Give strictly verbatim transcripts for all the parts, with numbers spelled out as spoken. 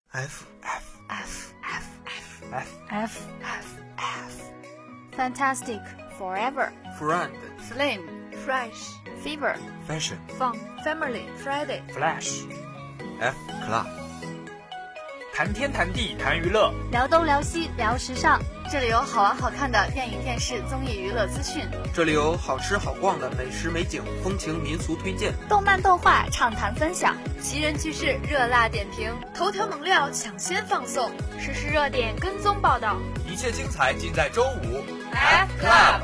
F F F F F F F F Fantastic Forever Friend Flame Fresh Fever Fashion Fun Family Friday Flash F Club 谈天谈地谈娱乐， 聊东聊西聊时尚，这里有好玩好看的电影电视综艺娱乐资讯， 这里有好吃好逛的美食美景风情民俗推荐， 动漫动画畅谈分享，奇人趣事热辣点评，头条猛料抢先放送，实时热点跟踪报道， 一切精彩尽在周五 F Club。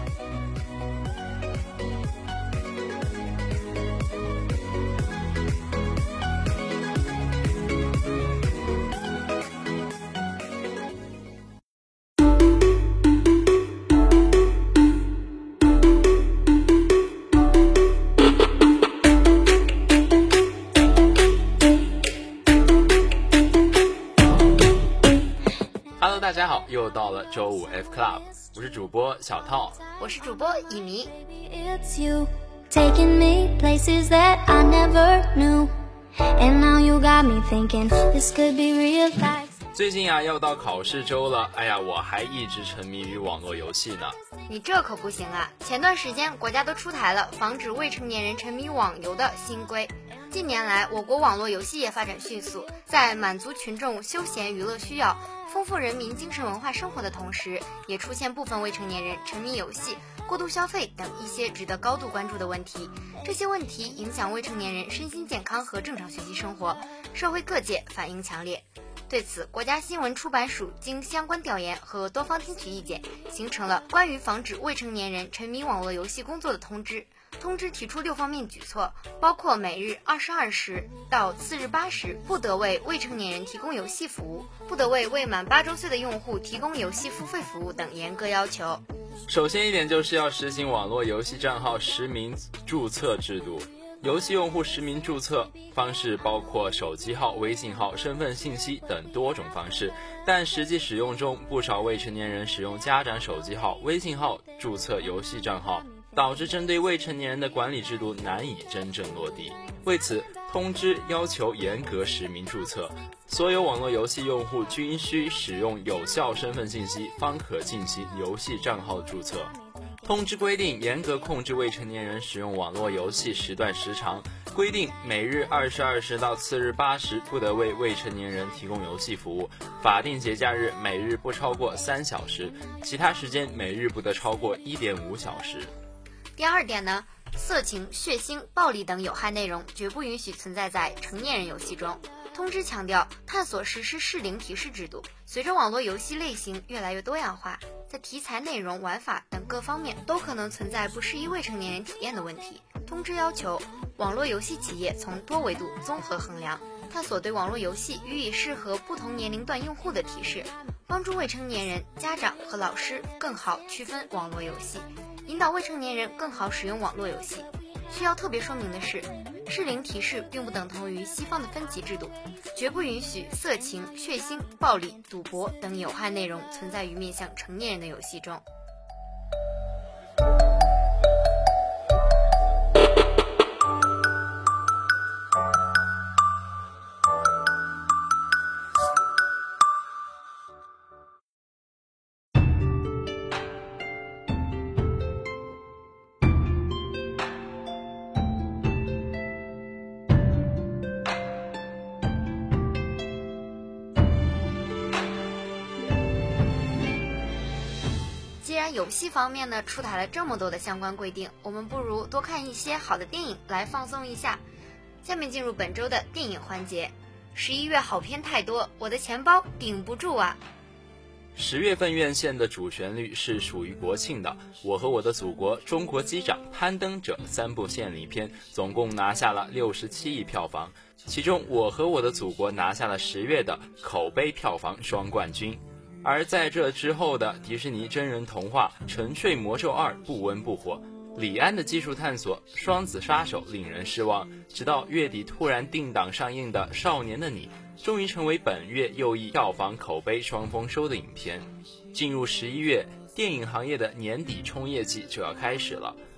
Hello， 大家好，又到了周五 F Club， 我是主播小套， 我是主播乙醚。 It's you taking me places that I never knew, and now you got me thinking this could be real life. 最近啊，要到考试周了，哎呀，我还一直沉迷于网络游戏呢。 你这可不行啊！前段时间国家都出台了防止未成年人沉迷网游的新规。近年来，我国网络游戏业发展迅速，在满足群众休闲娱乐需要、丰富人民精神文化生活的同时，也出现部分未成年人沉迷游戏、过度消费等一些值得高度关注的问题。这些问题影响未成年人身心健康和正常学习生活，社会各界反应强烈。对此，国家新闻出版署经相关调研和多方听取意见，形成了关于防止未成年人沉迷网络游戏工作的通知。通知提出六方面举措，包括每日二十二时到次日八时不得为未成年人提供游戏服务，不得为未满八周岁的用户提供游戏付费服务等严格要求。 首先一点就是要实行网络游戏账号实名注册制度。游戏用户实名注册方式包括手机号、微信号、身份信息等多种方式，但实际使用中，不少未成年人使用家长手机号、微信号注册游戏账号，导致针对未成年人的管理制度难以真正落地。为此，通知要求严格实名注册，所有网络游戏用户均需使用有效身份信息，方可进行游戏账号注册。通知规定，严格控制未成年人使用网络游戏时段时长，规定每日二十二时到次日八时不得为未成年人提供游戏服务，法定节假日每日不超过三小时，其他时间每日不得超过一点五小时。 第二点呢，色情、血腥、暴力等有害内容绝不允许存在在成年人游戏中。通知强调，探索实施适龄提示制度。随着网络游戏类型越来越多样化，在题材、内容、玩法等各方面都可能存在不适宜未成年人体验的问题。通知要求网络游戏企业从多维度综合衡量，探索对网络游戏予以适合不同年龄段用户的提示，帮助未成年人、家长和老师更好区分网络游戏，引导未成年人更好使用网络游戏。需要特别说明的是，适龄提示并不等同于西方的分级制度，绝不允许色情、血腥、暴力、赌博等有害内容存在于面向成年人的游戏中。既然游戏方面呢出台了这么多的相关规定，我们不如多看一些好的电影来放松一下。下面进入本周的电影环节。十一月好片太多，我的钱包顶不住啊！ 十月份院线的主旋律是属于国庆的《我和我的祖国》《中国机长》《攀登者》三部献礼片，总共拿下了六十七亿票房，其中《我和我的祖国》拿下了十月的口碑票房双冠军。而在这之后的迪士尼真人童话《沉睡魔咒二》不温不火，李安的技术探索《双子杀手》令人失望，直到月底突然定档上映的《少年的你》终于成为本月又一票房口碑双丰收的影片。进入十一月，电影行业的年底冲业季就要开始了。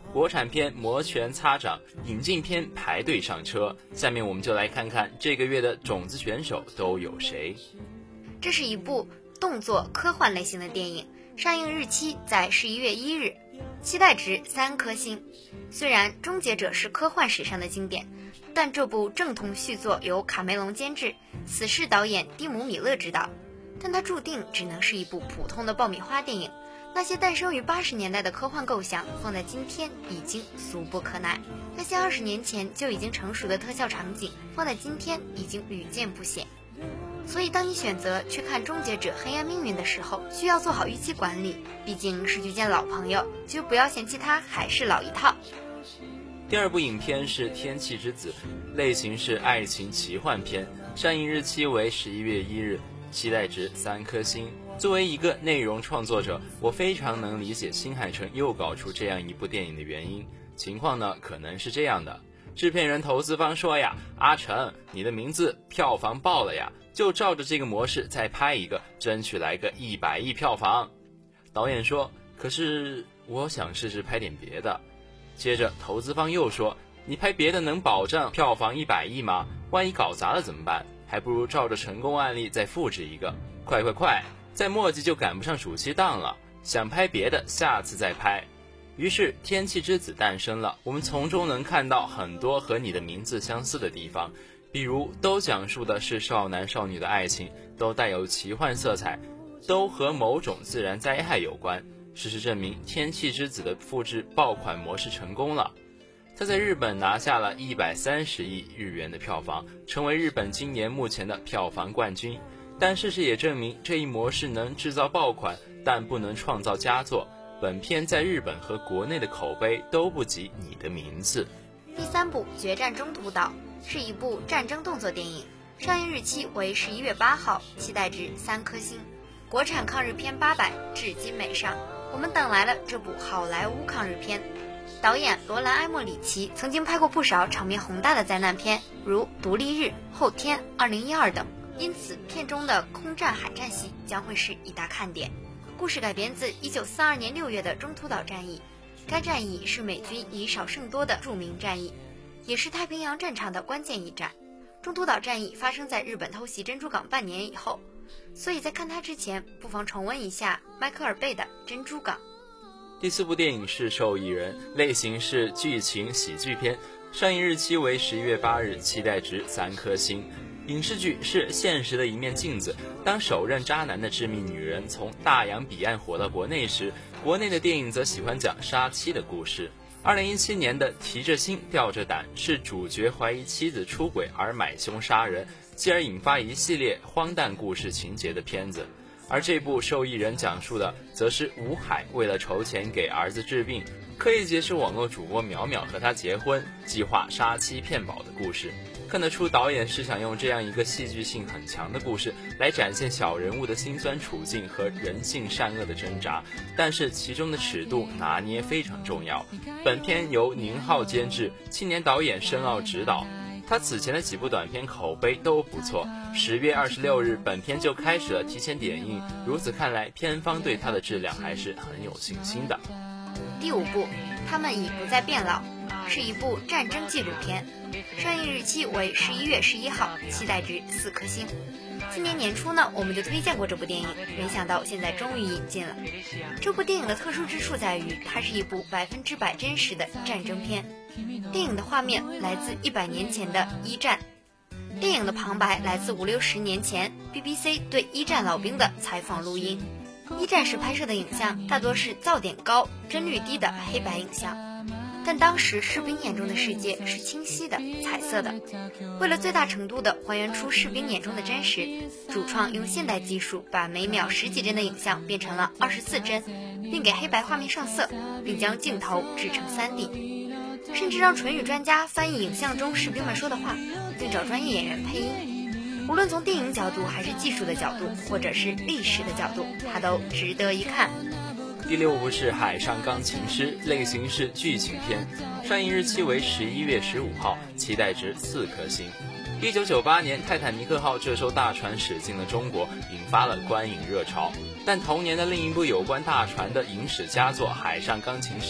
国产片摩拳擦掌，引进片排队上车。下面我们就来看看这个月的种子选手都有谁。 这是一部动作科幻类型的电影，上映日期在十一月一日，期待值三颗星。虽然《终结者》是科幻史上的经典，但这部正统续作由卡梅隆监制，死侍导演蒂姆·米勒执导，但它注定只能是一部普通的爆米花电影。那些诞生于八十年代的科幻构想，放在今天已经俗不可耐；那些二十年前就已经成熟的特效场景，放在今天已经屡见不鲜。所以当你选择去看《终结者：黑暗命运》的时候，需要做好预期管理，毕竟是去见老朋友，就不要嫌弃它还是老一套。 第二部影片是《天气之子》，类型是爱情奇幻片，上映日期为十一月一日，期待值三颗星。作为一个内容创作者，我非常能理解新海诚又搞出这样一部电影的原因。情况呢，可能是这样的：制片人投资方说呀，阿诚，你的名字票房爆了呀，就照着这个模式再拍一个，争取来个一百亿票房。导演说，可是我想试试拍点别的。接着投资方又说，你拍别的能保证票房一百亿吗？万一搞砸了怎么办？还不如照着成功案例再复制一个。快快快，再墨迹就赶不上暑期档了，想拍别的下次再拍。于是天气之子诞生了，我们从中能看到很多和你的名字相似的地方，比如都讲述的是少男少女的爱情，都带有奇幻色彩，都和某种自然灾害有关。事实证明，天气之子的复制爆款模式成功了，它在日本拿下了一百三十亿日元的票房，成为日本今年目前的票房冠军。但事实也证明，这一模式能制造爆款，但不能创造佳作。本片在日本和国内的口碑都不及你的名字。 第三部《决战中途岛》是一部战争动作电影，上映日期为十一月八号，期待值三颗星。国产抗日片八百至今没上，我们等来了这部好莱坞抗日片。导演罗兰·埃莫里奇曾经拍过不少场面宏大的灾难片，如《独立日》、《后天》、二零一二等，因此片中的空战海战戏将会是一大看点。故事改编自一九四二年六月的中途岛战役，该战役是美军以少胜多的著名战役，也是太平洋战场的关键一战。中途岛战役发生在日本偷袭珍珠港半年以后，所以在看它之前，不妨重温一下迈克尔贝的《珍珠港》。 第四部电影是《受益人》，类型是剧情喜剧片，上映日期为十一月八日，期待值三颗星。影视剧是现实的一面镜子，当首任渣男的致命女人从大洋彼岸火到国内时，国内的电影则喜欢讲杀妻的故事。二零一七年的提着心吊着胆是主角怀疑妻子出轨而买凶杀人，继而引发一系列荒诞故事情节的片子。而这部《受益人》讲述的则是吴海为了筹钱给儿子治病，刻意结识网络主播淼淼和他结婚，计划杀妻骗保的故事。看得出导演是想用这样一个戏剧性很强的故事来展现小人物的辛酸处境和人性善恶的挣扎，但是其中的尺度拿捏非常重要。本片由宁浩监制，青年导演申奥执导，他此前的几部短片口碑都不错。十月二十六日本片就开始了提前点映，如此看来片方对它的质量还是很有信心的。 第五部他们已不再变老，是一部战争纪录片，上映日期为十一月十一号，期待值四颗星。今年年初呢，我们就推荐过这部电影，没想到现在终于引进了。这部电影的特殊之处在于，它是一部百分之百真实的战争片。电影的画面来自一百年前的一战，电影的旁白来自五六十年前 B B C 对一战老兵的采访录音。一战时拍摄的影像大多是噪点高、帧率低的黑白影像，但当时士兵眼中的世界是清晰的、彩色的。为了最大程度地还原出士兵眼中的真实，主创用现代技术把每秒十几帧的影像变成了二十四帧，并给黑白画面上色，并将镜头制成 三 D， 甚至让唇语专家翻译影像中士兵们说的话，并找专业演员配音。无论从电影角度还是技术的角度，或者是历史的角度，它都值得一看。 第六部是《海上钢琴师》，类型是剧情片，上映日期为十一月十五号，期待值四颗星。一九九八年，泰坦尼克号这艘大船驶进了中国，引发了观影热潮。但同年的另一部有关大船的影史佳作《海上钢琴师》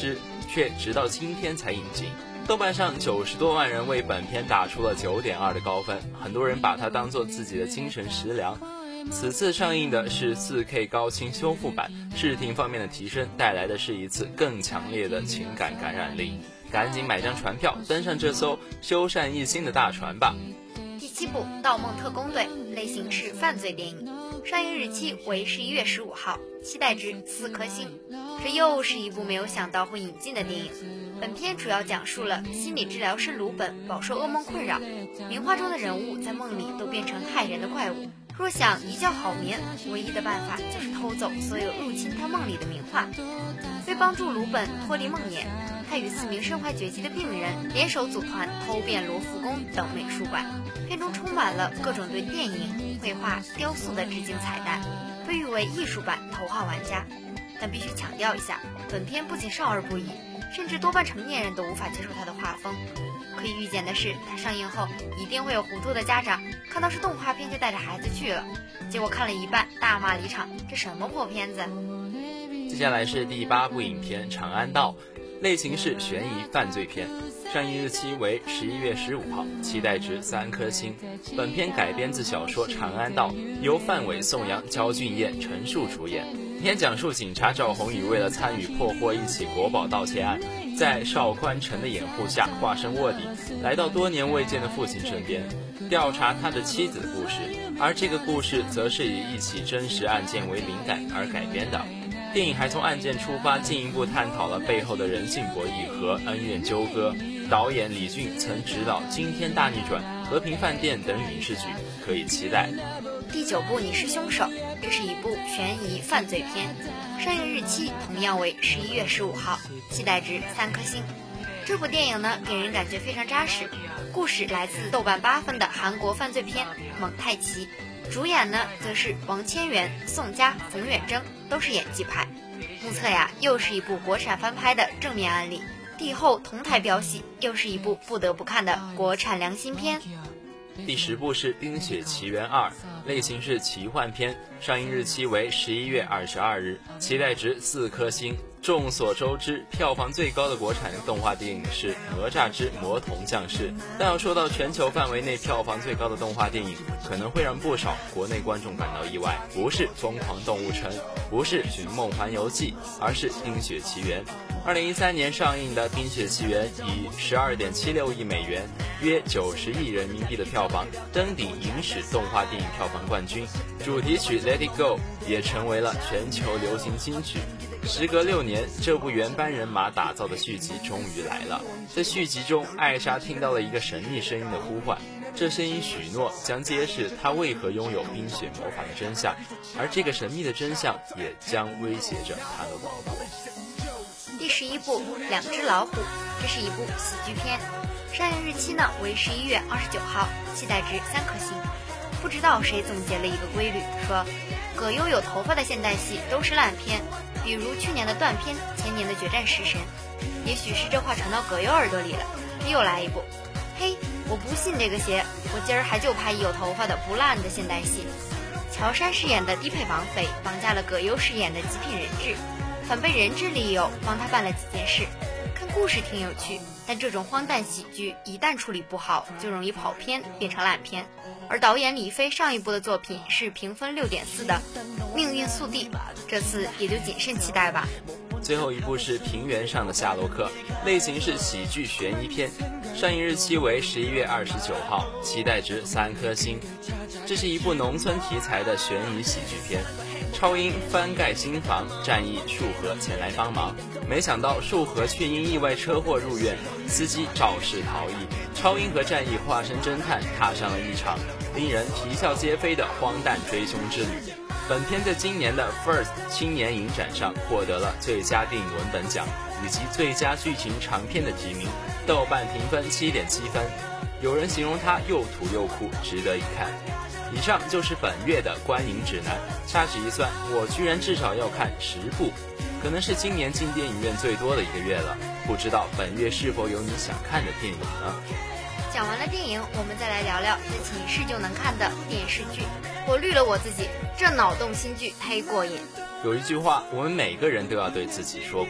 却直到今天才引进。豆瓣上九十多万人为本片打出了 九点二 的高分，很多人把它当作自己的精神食粮。此次上映的是 四K 高清修复版，视听方面的提升带来的是一次更强烈的情感感染力。赶紧买张船票，登上这艘修缮一新的大船吧。 第七部《盗梦特工队》，类型是犯罪电影，上映日期为十一月十五号，期待值四颗星。这又是一部没有想到会引进的电影。本片主要讲述了心理治疗师鲁本饱受噩梦困扰，名画中的人物在梦里都变成害人的怪物。若想一觉好眠，唯一的办法就是偷走所有入侵他梦里的名画。为帮助鲁本脱离梦魇，他与四名身怀绝技的病人联手组团偷遍罗浮宫等美术馆。片中充满了各种对电影、绘画、雕塑的致敬彩蛋，被誉为艺术版头号玩家。但必须强调一下，本片不仅少儿不宜，甚至多半成年人都无法接受它的画风。可以预见的是，它上映后一定会有糊涂的家长看到是动画片就带着孩子去了，结果看了一半大骂离场，这什么破片子。 接下来是第八部影片《长安道》，类型是悬疑犯罪片，上映日期为十一月十五号，期待值三颗星。本片改编自小说《长安道》，由范伟、宋阳、焦俊艳、陈数主演。本片讲述警察赵宏宇为了参与破获一起国宝盗窃案，在邵宽成的掩护下化身卧底，来到多年未见的父亲身边，调查他的妻子的故事。而这个故事则是以一起真实案件为灵感而改编的。电影还从案件出发，进一步探讨了背后的人性博弈和恩怨纠葛。导演李俊曾执导《惊天大逆转》《和平饭店》等影视剧，可以期待。 第九部《你是凶手》，这是一部悬疑犯罪片，上映日期同样为十一月十五号，期待值三颗星。这部电影呢，给人感觉非常扎实。故事来自豆瓣八分的韩国犯罪片《蒙太奇》，主演呢则是王千源、宋佳、冯远征，都是演技派。目测呀，又是一部国产翻拍的正面案例。帝后同台飙戏，又是一部不得不看的国产良心片。 第十部是《冰雪奇缘二》，类型是奇幻片，上映日期为十一月二十二日，期待值四颗星。众所周知，票房最高的国产动画电影是《哪吒之魔童降世》，但要说到全球范围内票房最高的动画电影，可能会让不少国内观众感到意外，不是《疯狂动物城》，不是《寻梦环游记》，而是《冰雪奇缘》。二零一三年上映的《冰雪奇缘》以 十二点七六亿美元，约九十亿人民币的票房登顶影史动画电影票房冠军，主题曲 Let It Go 也成为了全球流行金曲。时隔六年，这部原班人马打造的续集终于来了。在续集中，艾莎听到了一个神秘声音的呼唤，这声音许诺将揭示她为何拥有冰雪魔法的真相，而这个神秘的真相也将威胁着她的王国。 第十一部《两只老虎》，这是一部喜剧片，上映日期呢为十一月二十九号，期待值三颗星。不知道谁总结了一个规律，说葛优有头发的现代戏都是烂片，比如去年的断片，前年的决战食神。也许是这话传到葛优耳朵里了，他又来一部。嘿，我不信这个邪，我今儿还就拍有头发的不烂的现代戏。乔杉饰演的低配绑匪绑架了葛优饰演的极品人质，反被人质利诱帮他办了几件事。看故事挺有趣，但这种荒诞喜剧一旦处理不好，就容易跑偏变成烂片。而导演李飞上一部的作品是评分 六点四 的《命运速递》，这次也就谨慎期待吧。 最后一部是《平原上的夏洛克》，类型是喜剧悬疑片，上映日期为十一月二十九号，期待值三颗星。这是一部农村题材的悬疑喜剧片。超英翻盖新房，战役树河前来帮忙，没想到树河却因意外车祸入院，司机肇事逃逸。超英和战役化身侦探，踏上了一场令人啼笑皆非的荒诞追凶之旅。本片在今年的 First 青年影展上获得了最佳电影文本奖以及最佳剧情长片的提名，豆瓣评分 七点七 分。有人形容它又土又酷，值得一看。以上就是本月的观影指南，掐指一算，我居然至少要看十部，可能是今年进电影院最多的一个月了。不知道本月是否有你想看的电影呢？ 讲完了电影，我们再来聊聊在寝室就能看的电视剧。我绿了我自己，这脑洞新剧忒过瘾。 有一句话，我们每个人都要对自己说过：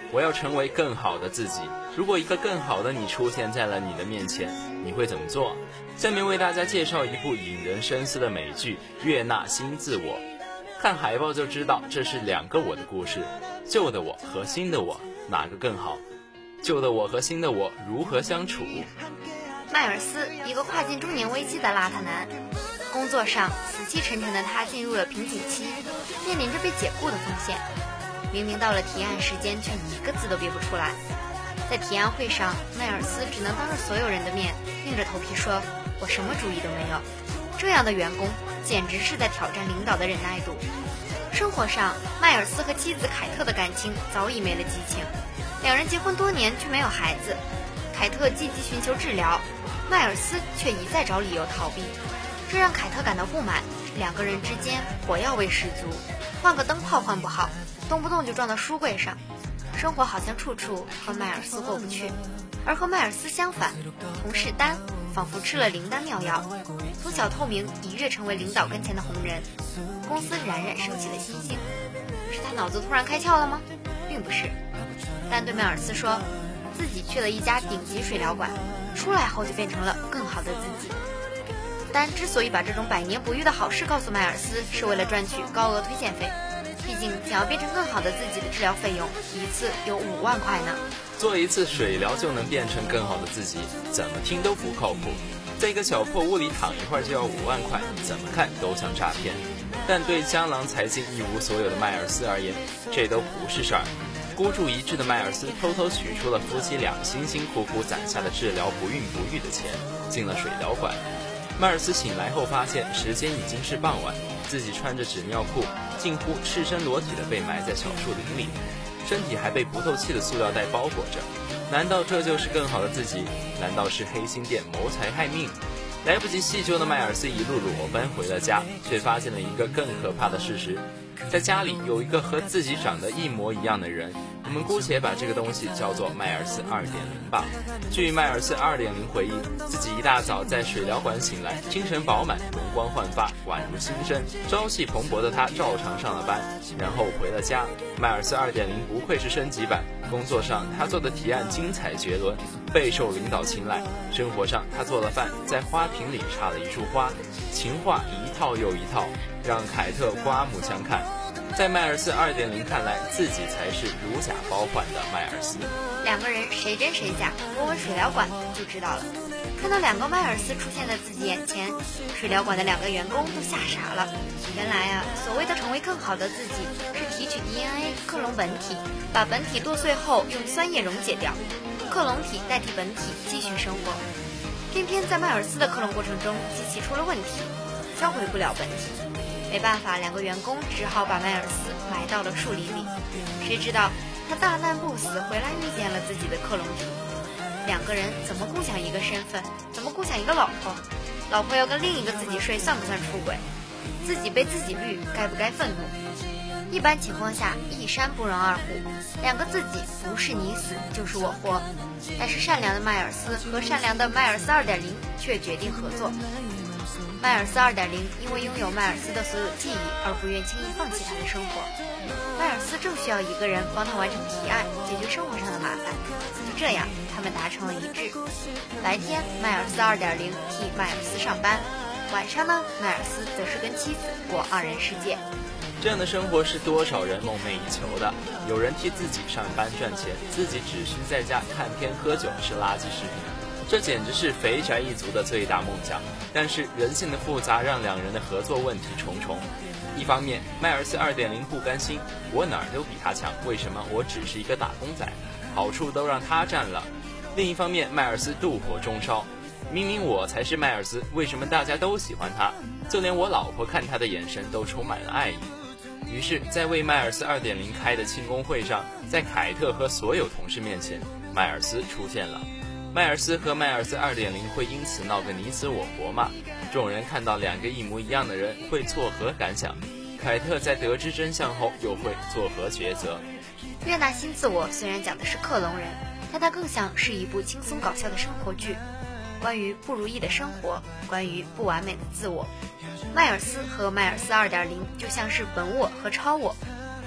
我要成为更好的自己。如果一个更好的你出现在了你的面前，你会怎么做？下面为大家介绍一部引人深思的美剧《悦纳新自我》。看海报就知道，这是两个我的故事，旧的我和新的我，哪个更好？旧的我和新的我如何相处？ 迈尔斯，一个跨进中年危机的邋遢男，工作上死气沉沉的他进入了瓶颈期，面临着被解雇的风险。明明到了提案时间，却一个字都憋不出来。在提案会上，迈尔斯只能当着所有人的面硬着头皮说：“我什么主意都没有。”这样的员工简直是在挑战领导的忍耐度。生活上，迈尔斯和妻子凯特的感情早已没了激情，两人结婚多年却没有孩子。凯特积极寻求治疗，迈尔斯却一再找理由逃避，这让凯特感到不满。两个人之间火药味十足，换个灯泡换不好，动不动就撞到书柜上。生活好像处处和迈尔斯过不去，而和迈尔斯相反，同事丹仿佛吃了灵丹妙药，从小透明一跃成为领导跟前的红人，公司冉冉升起了星星。是他脑子突然开窍了吗？并不是。丹对迈尔斯说，自己去了一家顶级水疗馆，出来后就变成了更好的自己。丹之所以把这种百年不遇的好事告诉迈尔斯，是为了赚取高额推荐费。毕竟想要变成更好的自己的治疗费用一次有五万块呢。 做一次水疗就能变成更好的自己，怎么听都不靠谱。在一个小破屋里躺一会儿就要五万块，怎么看都像诈骗。但对江郎才尽一无所有的迈尔斯而言，这都不是事儿。孤注一掷的迈尔斯偷偷取出了夫妻俩辛辛苦苦攒下的治疗不孕不育的钱，进了水疗馆。迈尔斯醒来后发现时间已经是傍晚，自己穿着纸尿裤近乎赤身裸体的被埋在小树林里，身体还被不透气的塑料袋包裹着。难道这就是更好的自己？难道是黑心店谋财害命？来不及细究的迈尔斯一路裸奔回了家，却发现了一个更可怕的事实，在家里有一个和自己长得一模一样的人。我们姑且把这个东西叫做迈尔斯 二点零 吧。据迈尔斯 二点零 回忆，自己一大早在水疗馆醒来，精神饱满，容光焕发，宛如新生，朝气蓬勃的他照常上了班，然后回了家。迈尔斯 二点零 不愧是升级版，工作上他做的提案精彩绝伦，备受领导青睐。生活上他做了饭，在花瓶里插了一束花，情话一套又一套，让凯特刮目相看。在迈尔斯 二点零 看来，自己才是如假包换的迈尔斯。 两个人谁真谁假，闻闻水疗馆就知道了。看到两个迈尔斯出现在自己眼前，水疗馆的两个员工都吓傻了。原来啊，所谓的成为更好的自己，是提取 D N A 克隆本体，把本体剁碎后用酸液溶解掉，克隆体代替本体继续生活。偏偏在迈尔斯的克隆过程中，机器出了问题，销毁不了本体。没办法，两个员工只好把迈尔斯埋到了树林里。谁知道他大难不死，回来遇见了自己的克隆体。两个人怎么共享一个身份？怎么共享一个老婆？老婆要跟另一个自己睡，算不算出轨？自己被自己绿，该不该愤怒？一般情况下，一山不容二虎，两个自己不是你死就是我活。但是善良的迈尔斯和善良的迈尔斯 二点零 却决定合作。迈尔斯 二点零 因为拥有迈尔斯的所有记忆而不愿轻易放弃他的生活。迈尔斯正需要一个人帮他完成提案，解决生活上的麻烦。就这样，他们达成了一致。白天，迈尔斯 二点零 替迈尔斯上班，晚上呢，迈尔斯则是跟妻子过二人世界。 这样的生活是多少人梦寐以求的。有人替自己上班赚钱，自己只需在家看片喝酒吃垃圾食品，这简直是肥宅一族的最大梦想。但是人性的复杂让两人的合作问题重重。一方面，迈尔斯 二点零 不甘心，我哪儿都比他强，为什么我只是一个打工仔，好处都让他占了。另一方面，迈尔斯妒火中烧，明明我才是迈尔斯，为什么大家都喜欢他？就连我老婆看他的眼神都充满了爱意。于是，在为迈尔斯 二点零 开的庆功会上，在凯特和所有同事面前，迈尔斯出现了。迈尔斯和迈尔斯 二点零 会因此闹个你死我活吗？众人看到两个一模一样的人会作何感想？凯特在得知真相后又会作何抉择？ 悦纳新自我虽然讲的是克隆人，但它更像是一部轻松搞笑的生活剧，关于不如意的生活，关于不完美的自我。迈尔斯和迈尔斯 二点零 就像是本我和超我，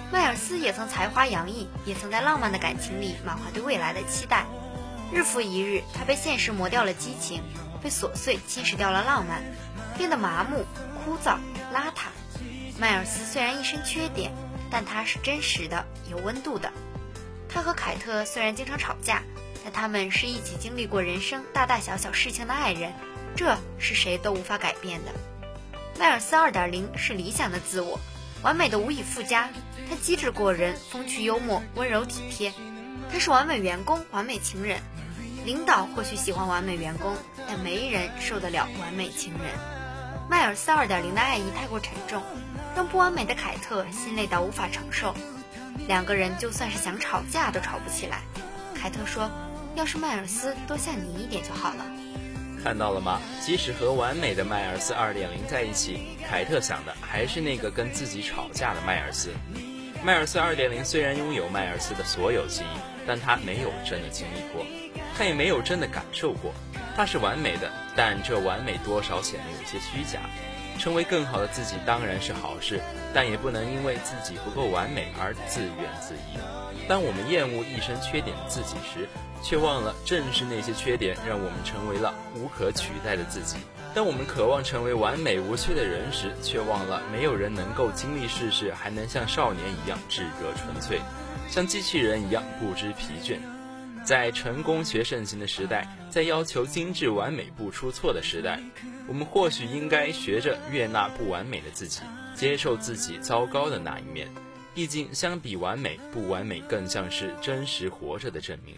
迈尔斯也曾才华洋溢，也曾在浪漫的感情里满怀对未来的期待。日复一日，他被现实磨掉了激情，被琐碎侵蚀掉了浪漫，变得麻木、枯燥、邋遢。迈尔斯虽然一身缺点，但他是真实的，有温度的。他和凯特虽然经常吵架，但他们是一起经历过人生大大小小事情的爱人，这是谁都无法改变的。迈尔斯 二点零 是理想的自我，完美的无以复加。他机智过人，风趣幽默，温柔体贴。他是完美员工，完美情人。领导或许喜欢完美员工，但没人受得了完美情人。迈尔斯 二点零 的爱意太过沉重，让不完美的凯特心累到无法承受。两个人就算是想吵架都吵不起来。凯特说，要是迈尔斯多像你一点就好了。 看到了吗？即使和完美的迈尔斯 二点零 在一起，凯特想的还是那个跟自己吵架的迈尔斯。迈尔斯 二点零 虽然拥有迈尔斯的所有记忆，但他没有真的经历过，他也没有真的感受过。他是完美的，但这完美多少显得有些虚假。成为更好的自己当然是好事，但也不能因为自己不够完美而自怨自艾。当我们厌恶一身缺点的自己时，却忘了正是那些缺点让我们成为了无可取代的自己。当我们渴望成为完美无缺的人时，却忘了没有人能够经历世事还能像少年一样炙热纯粹，像机器人一样不知疲倦。在成功学盛行的时代，在要求精致完美不出错的时代，我们或许应该学着悦纳不完美的自己，接受自己糟糕的那一面。毕竟相比完美，不完美更像是真实活着的证明。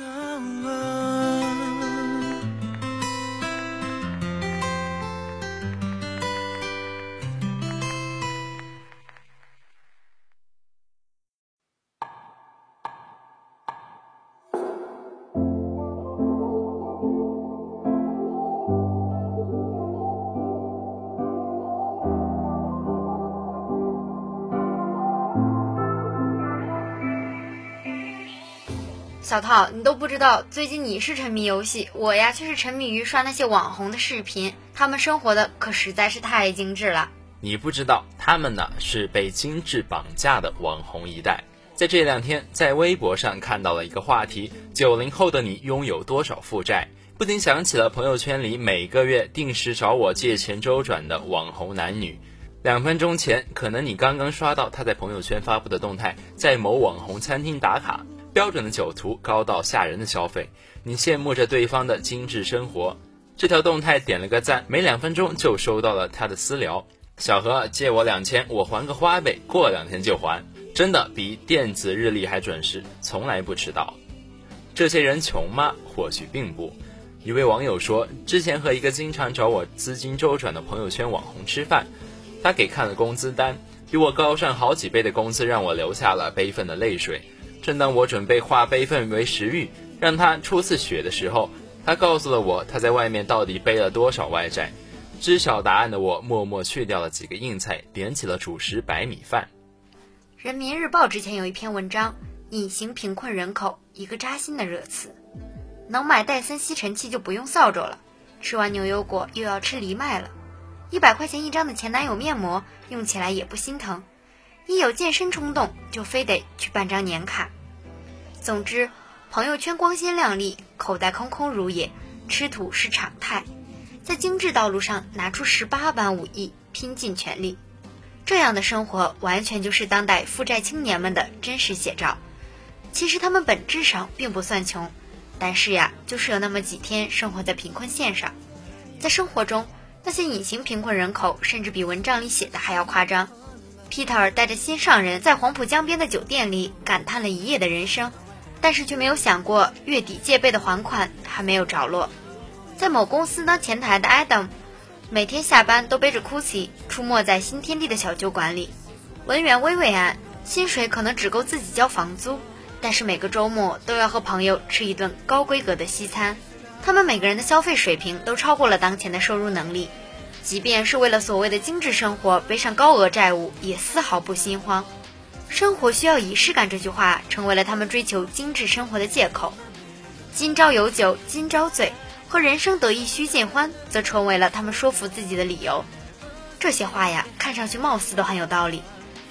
小套，你都不知道，最近你是沉迷游戏，我呀却是沉迷于刷那些网红的视频，他们生活的可实在是太精致了。 你不知道，他们呢是被精致绑架的网红一代。在这两天，在微博上看到了一个话题：九零后的你拥有多少负债？不禁想起了朋友圈里每个月定时找我借钱周转的网红男女。两分钟前，可能你刚刚刷到他在朋友圈发布的动态，在某网红餐厅打卡，标准的酒图，高到吓人的消费，你羡慕着对方的精致生活。这条动态点了个赞，没两分钟就收到了他的私聊：小何，借我两千，我还个花呗，过两天就还。真的比电子日历还准时，从来不迟到。这些人穷吗？或许并不。一位网友说，之前和一个经常找我资金周转的朋友圈网红吃饭，他给看了工资单，比我高上好几倍的工资让我流下了悲愤的泪水。正当我准备化悲愤为食欲，让他出次血的时候，他告诉了我他在外面到底背了多少外债。知晓答案的我默默去掉了几个硬菜，点起了主食白米饭。 人民日报之前有一篇文章，隐形贫困人口，一个扎心的热词。能买戴森吸尘器就不用扫帚了，吃完牛油果又要吃藜麦了，一百块钱一张的前男友面膜用起来也不心疼，一有健身冲动就非得去办张年卡。总之，朋友圈光鲜亮丽，口袋空空如也，吃土是常态。在精致道路上拿出十八般武艺，拼尽全力。这样的生活完全就是当代负债青年们的真实写照。其实他们本质上并不算穷，但是呀，就是有那么几天生活在贫困线上。在生活中，那些隐形贫困人口甚至比文章里写的还要夸张。Peter 带着心上人在黄浦江边的酒店里感叹了一夜的人生，但是却没有想过月底借呗的还款还没有着落。在某公司当前台的 Adam， 每天下班都背着 Gucci 出没在新天地的小酒馆里，文员微微安，薪水可能只够自己交房租，但是每个周末都要和朋友吃一顿高规格的西餐。他们每个人的消费水平都超过了当前的收入能力，即便是为了所谓的精致生活背上高额债务，也丝毫不心慌。生活需要仪式感这句话成为了他们追求精致生活的借口。今朝有酒今朝醉，和人生得意须尽欢则成为了他们说服自己的理由。这些话呀，看上去貌似都很有道理，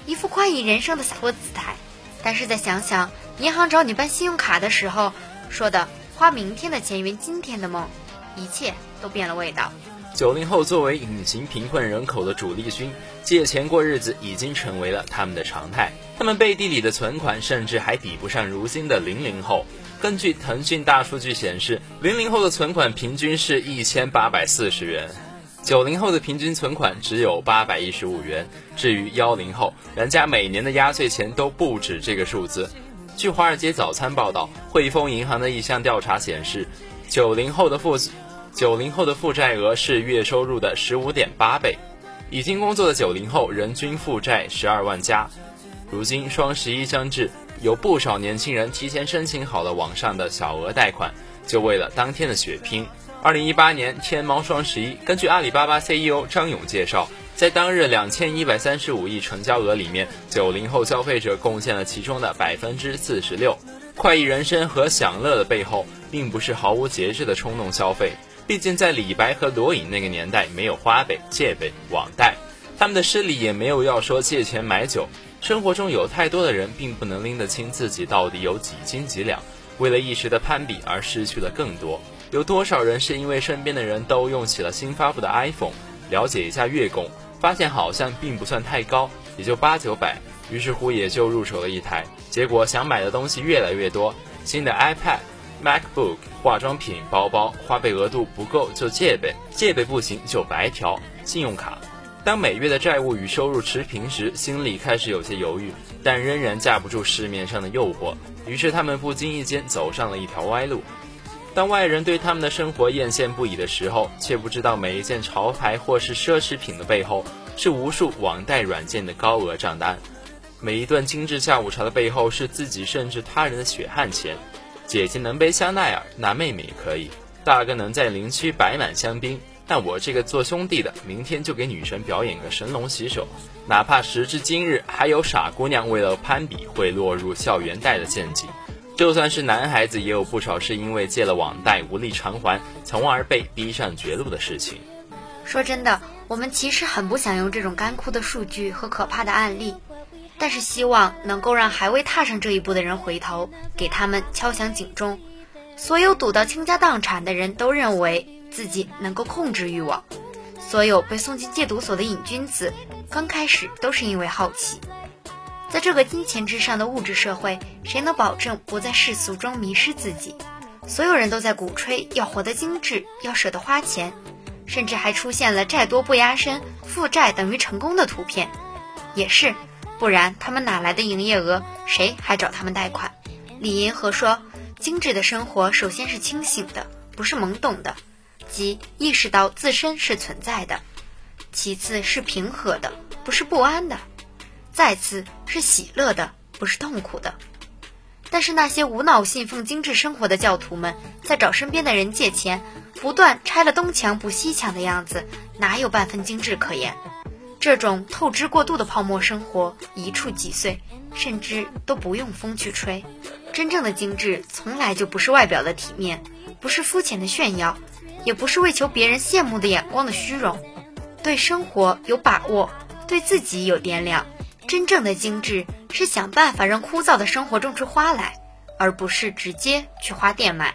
一副宽裕人生的洒脱姿态。但是再想想银行找你办信用卡的时候说的花明天的钱圆今天的梦，一切都变了味道。 九零后作为隐形贫困人口的主力军，借钱过日子已经成为了他们的常态。他们背地里的存款甚至还比不上如今的零零后。根据腾讯大数据显示，零零后的存款平均是一千八百四十元，九零后的平均存款只有八百一十五元。至于幺零后，人家每年的压岁钱都不止这个数字。据华尔街早餐报道，汇丰银行的一项调查显示，九零后的负九零后的负债额是月收入的 十五点八 倍。已经工作的九零后人均负债十二万加。如今双十一将至，有不少年轻人提前申请好了网上的小额贷款，就为了当天的血拼。二零一八年天猫双十一，根据阿里巴巴 C E O 张勇介绍，在当日两千一百三十五亿成交额里面，九零后消费者贡献了其中的 百分之四十六。 快意人生和享乐的背后，并不是毫无节制的冲动消费，毕竟在李白和罗隐那个年代，没有花呗、借呗、网贷，他们的诗里也没有要说借钱买酒。生活中有太多的人并不能拎得清自己到底有几斤几两，为了一时的攀比而失去了更多。有多少人是因为身边的人都用起了新发布的 iPhone， 了解一下月供，发现好像并不算太高，也就八九百，于是乎也就入手了一台，结果想买的东西越来越多，新的 iPad、MacBook、化妆品、包包，花呗额度不够就借呗，借呗不行就白条，信用卡。当每月的债务与收入持平时，心里开始有些犹豫，但仍然架不住市面上的诱惑，于是他们不经意间走上了一条歪路。当外人对他们的生活艳羡不已的时候，却不知道每一件潮牌或是奢侈品的背后，是无数网贷软件的高额账单。每一顿精致下午茶的背后，是自己甚至他人的血汗钱。姐姐能背香奈儿，那妹妹也可以；大哥能在林区摆满香槟，那我这个做兄弟的，明天就给女神表演个神龙洗手。哪怕时至今日，还有傻姑娘为了攀比会落入校园贷的陷阱。就算是男孩子，也有不少是因为借了网贷无力偿还，从而被逼上绝路的事情。 说真的，我们其实很不想用这种干枯的数据和可怕的案例，但是希望能够让还未踏上这一步的人回头，给他们敲响警钟。所有赌到倾家荡产的人都认为自己能够控制欲望，所有被送进戒毒所的瘾君子，刚开始都是因为好奇。在这个金钱至上的物质社会，谁能保证不在世俗中迷失自己？所有人都在鼓吹要活得精致，要舍得花钱，甚至还出现了债多不压身，负债等于成功的图片。也是，不然他们哪来的营业额？谁还找他们贷款？李银河说，精致的生活首先是清醒的，不是懵懂的，即意识到自身是存在的；其次是平和的，不是不安的；再次是喜乐的，不是痛苦的。但是那些无脑信奉精致生活的教徒们，在找身边的人借钱，不断拆了东墙补西墙的样子，哪有半分精致可言？这种透支过度的泡沫生活一触即碎，甚至都不用风去吹。真正的精致从来就不是外表的体面，不是肤浅的炫耀，也不是为求别人羡慕的眼光的虚荣。对生活有把握，对自己有掂量。真正的精致是想办法让枯燥的生活种出花来，而不是直接去花店买。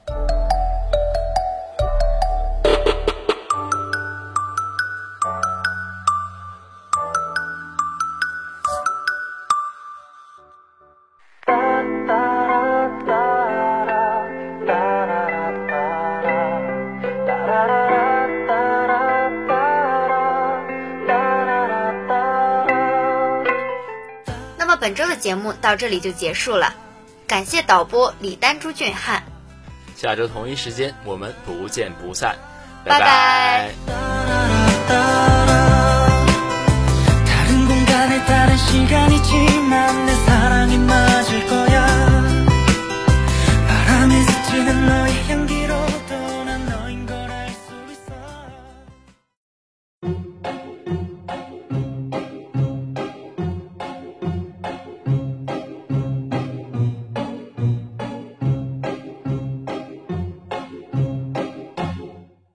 本周的节目到这里就结束了，感谢导播李丹、朱俊汉。 下周同一时间我们不见不散， 拜拜。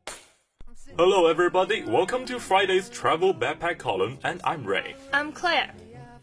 Hello everybody, welcome to Friday's Travel Backpack column, and I'm Ray. I'm Claire.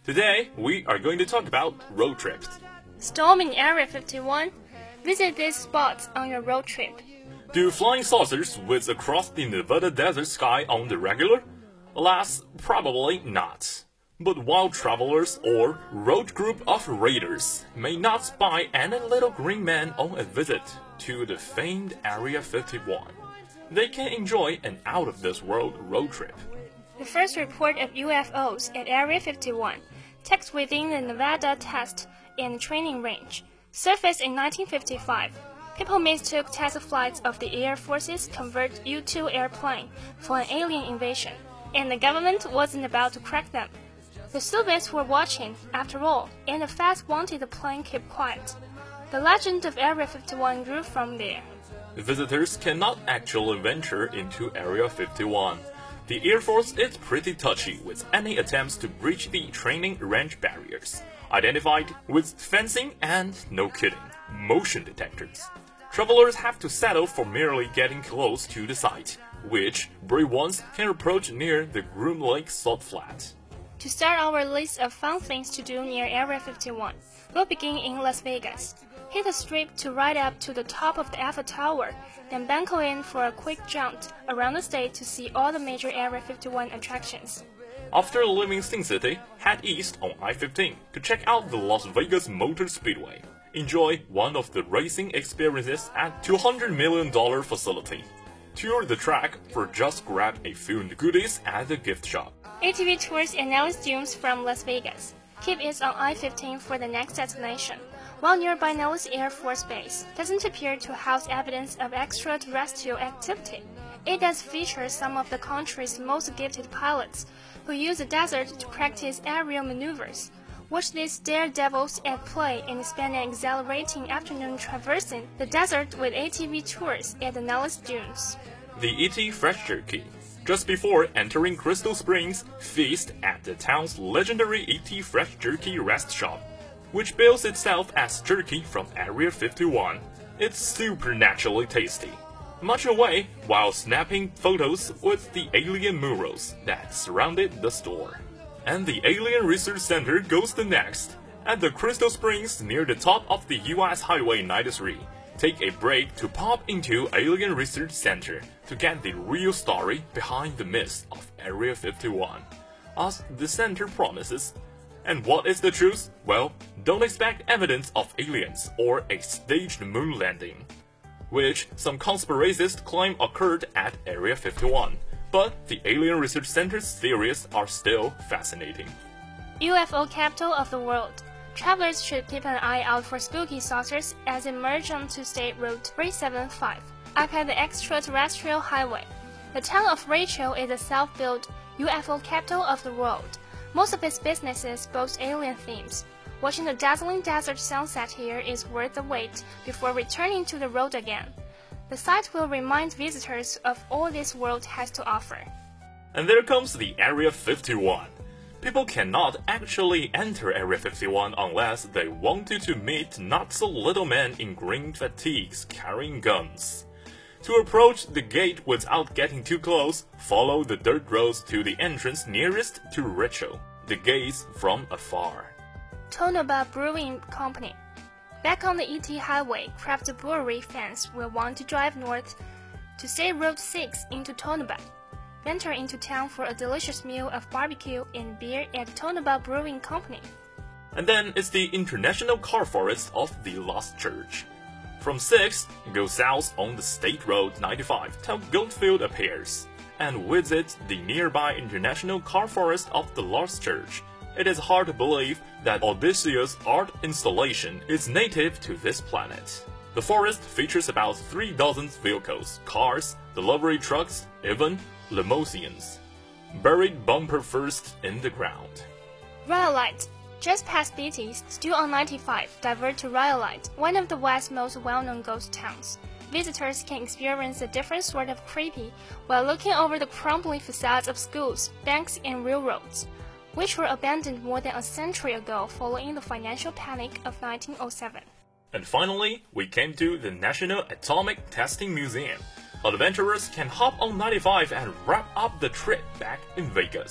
Today, we are going to talk about road trips. Storming Area fifty-one? Visit these spots on your road trip. Do flying saucers whiz across the Nevada desert sky on the regular? Alas, probably not. But wild travelers or road group of raiders may not spy any little green man on a visit to the famed Area fifty-one. They can enjoy an out-of-this-world road trip. The first report of U F Os at Area fifty-one, tucked within the Nevada Test and Training Range, surfaced in nineteen fifty-five. People mistook test flights of the Air Force's convert U two airplane for an alien invasion, and the government wasn't about to crack them. The Soviets were watching, after all, and the F A S wanted the plane kept quiet. The legend of Area fifty-one grew from there. Visitors cannot actually venture into Area fifty-one. The Air Force is pretty touchy with any attempts to breach the training range barriers, identified with fencing and, no kidding, motion detectors. Travelers have to settle for merely getting close to the site, which brave ones can approach near the Groom Lake Salt Flat. To start our list of fun things to do near Area fifty-one, we'll begin in Las Vegas. Hit a strip to ride up to the top of the Eiffel Tower, then banco in for a quick jaunt around the state to see all the major Area fifty-one attractions. After leaving Sin City, head east on I fifteen to check out the Las Vegas Motor Speedway. Enjoy one of the racing experiences at two hundred million dollars facility. Tour the track or just grab a few goodies at the gift shop. A T V Tours and Nellis Dunes from Las Vegas. Keep it on I fifteen for the next destination. While nearby Nellis Air Force Base doesn't appear to house evidence of extraterrestrial activity, it does feature some of the country's most gifted pilots who use the desert to practice aerial maneuvers. Watch these daredevils at play and spend an exhilarating afternoon traversing the desert with A T V Tours at the Nellis Dunes. The E T Fresh Jerky. Just before entering Crystal Springs, feast at the town's legendary E T Fresh Jerky rest shop, which bills itself as jerky from Area fifty-one. It's supernaturally tasty. Much away while snapping photos with the alien murals that surrounded the store. And the Alien Research Center goes the next. At the Crystal Springs near the top of the U S Highway ninety-three, take a break to pop into Alien Research Center to get the real story behind the myths of Area fifty-one, as the center promises. And what is the truth? Well, don't expect evidence of aliens or a staged moon landing, which some conspiracists claim occurred at Area fifty-one. But the Alien Research Center's theories are still fascinating. U F O capital of the world. Travelers should keep an eye out for spooky saucers as they merge onto State Road three seventy-five, up at the extraterrestrial highway. The town of Rachel is a self-built U F O capital of the world. Most of its businesses boast alien themes. Watching the dazzling desert sunset here is worth the wait before returning to the road again. The site will remind visitors of all this world has to offer. And there comes the Area fifty-one. People cannot actually enter Area fifty-one unless they wanted to meet not-so-little men in green fatigues carrying guns. To approach the gate without getting too close, follow the dirt roads to the entrance nearest to Rachel, the gaze from afar. Tonopah Brewing Company. Back on the E T Highway, craft brewery fans will want to drive north to State Road six into Tonopah. Venture into town for a delicious meal of barbecue and beer at Tonopah Brewing Company. And then it's the International Car Forest of the Lost Church. From sixth, go south on the State Road ninety-five till Goldfield appears, and visit the nearby International Car Forest of the Lost Church. It is hard to believe that Odysseus' art installation is native to this planet. The forest features about three dozen vehicles, cars, delivery trucks, even limousines, buried bumper first in the ground. Rhyolite. Just past Beatty's, still on ninety-five, divert to Rhyolite, one of the West's most well-known ghost towns. Visitors can experience a different sort of creepy while looking over the crumbling facades of schools, banks, and railroads, which were abandoned more than a century ago following the financial panic of nineteen oh seven. And finally, we came to the National Atomic Testing Museum. Adventurers can hop on ninety-five and wrap up the trip back in Vegas.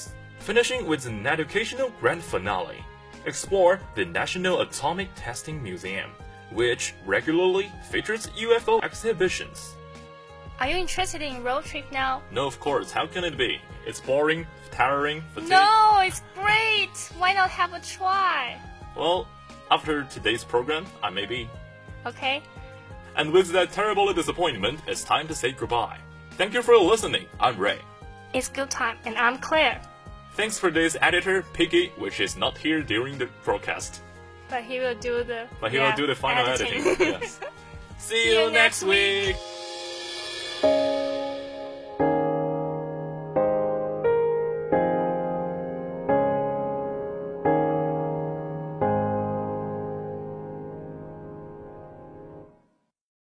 finishing with an educational grand finale. Explore the National Atomic Testing Museum, which regularly features U F O exhibitions. Are you interested in road trip now? No, of course. How can it be? It's boring, tiring, fatiguing. No, it's great. Why not have a try? Well, after today's program, I may be. Okay. And with that terrible disappointment, it's time to say goodbye. Thank you for listening. I'm Ray. It's good time, and I'm Claire. Thanks for this editor, Piggy, which is not here during the broadcast. But he will do the But he yeah, will do the final editing. editing. Yes. See you next week.